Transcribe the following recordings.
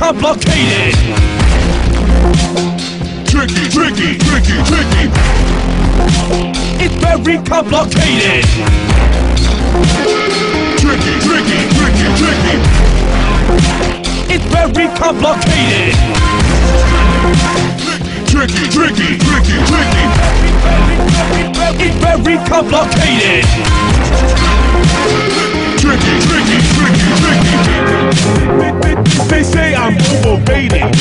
complicated. Tricky, tricky, tricky, tricky. It's very complicated. Tricky, tricky, tricky, tricky. It's very complicated. Tricky, tricky, tricky, tricky. It's very complicated. Tricky, tricky, tricky, tricky. They say I'm overrated.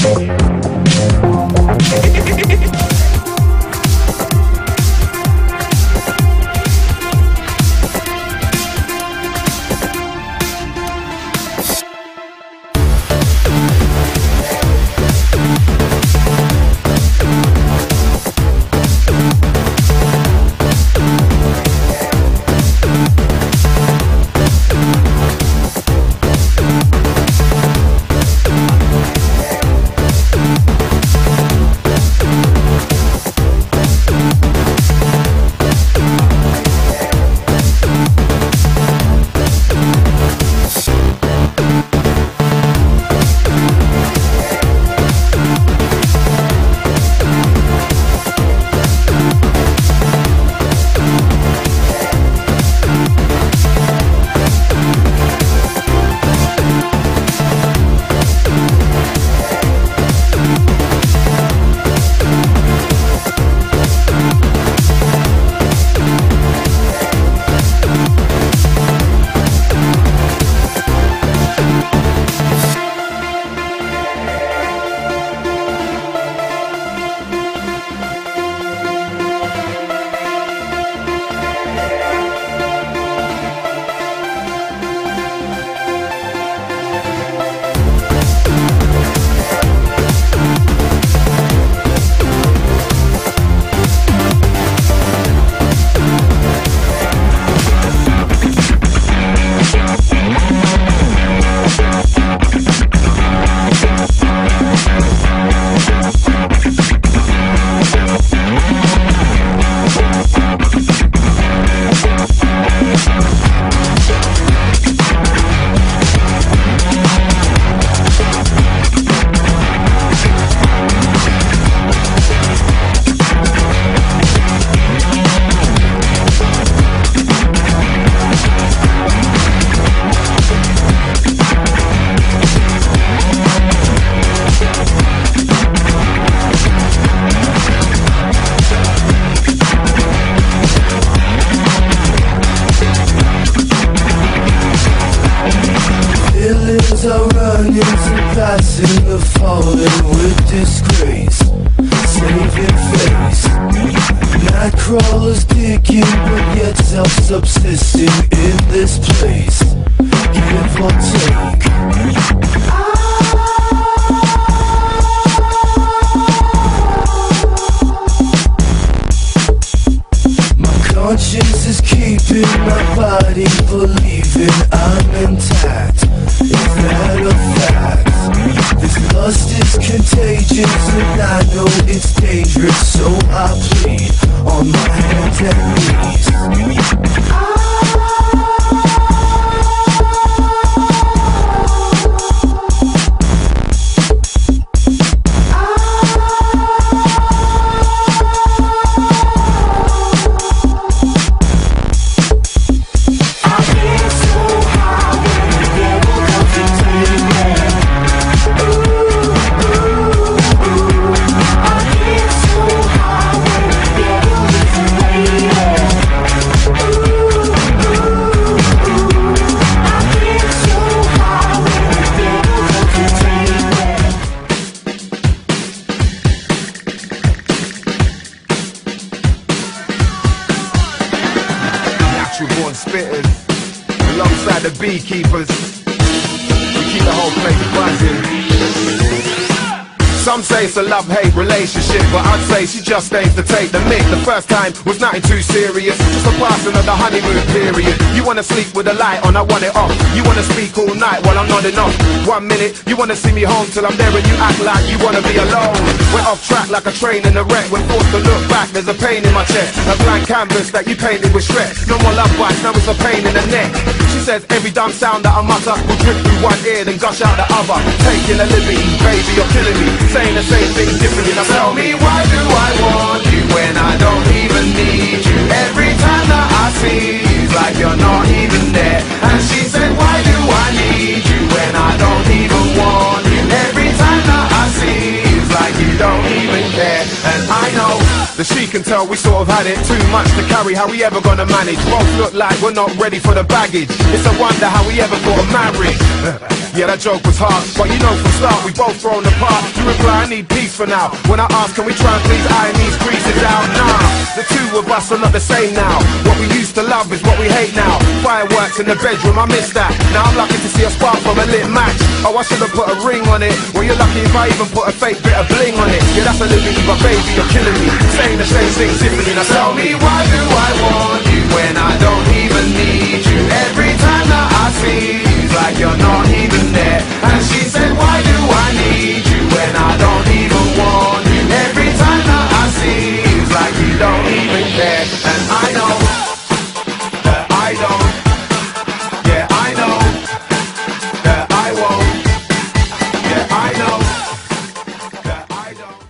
passing the fallen with disgrace, saving face. Night crawlers digging, but yet self-subsisting in this place. Give or take. Conscience is keeping my body believing I'm intact. Is that a fact? This lust is contagious and I know it's dangerous, so I plead on my hands and knees. Born spitters, alongside the beekeepers, we keep the whole place buzzing. Some say it's a love-hate relationship, but I'd say she just aims to take the mick. The first time was nothing too serious, just a passing of the honeymoon period. You wanna sleep with the light on, I want it off. You wanna speak all night while I'm nodding off. 1 minute, you wanna see me home till I'm there and you act like you wanna be alone. We're off track like a train in a wreck. We're forced to look back, there's a pain in my chest. A blank canvas that you painted with stress. No more love bites, now it's a pain in the neck. She says every dumb sound that I mutter will drip through one ear then gush out the other. Taking a liberty, baby, you're killing me. Saying the same thing differently. Now tell me, why do I want you when I don't even need you? Every time that I see you, it's like you're not even there. And she said, why do I need you when I don't even want you? Every time that I see you, it's like you don't even care. And I know that she can tell we sort of had it too much to carry. How we ever gonna manage? Both look like we're not ready for the baggage. It's a wonder how we ever got married. Yeah, that joke was hard, but you know from start we both thrown apart. You reply, I need peace for now. When I ask, can we try and please iron these creases out? Nah, the two of us are not the same now. What we used to love is what we hate now. Fireworks in the bedroom, I miss that. Now I'm lucky to see a spark from a lit match. Oh, I should have put a ring on it. Well, you're lucky if I even put a fake bit of bling on it. Yeah, that's a liberty, but baby, you're killing me. Saying the same thing differently. Now tell me, why do I want you when I don't even need you? Every time that I see you, it's like you're not even there. And she said,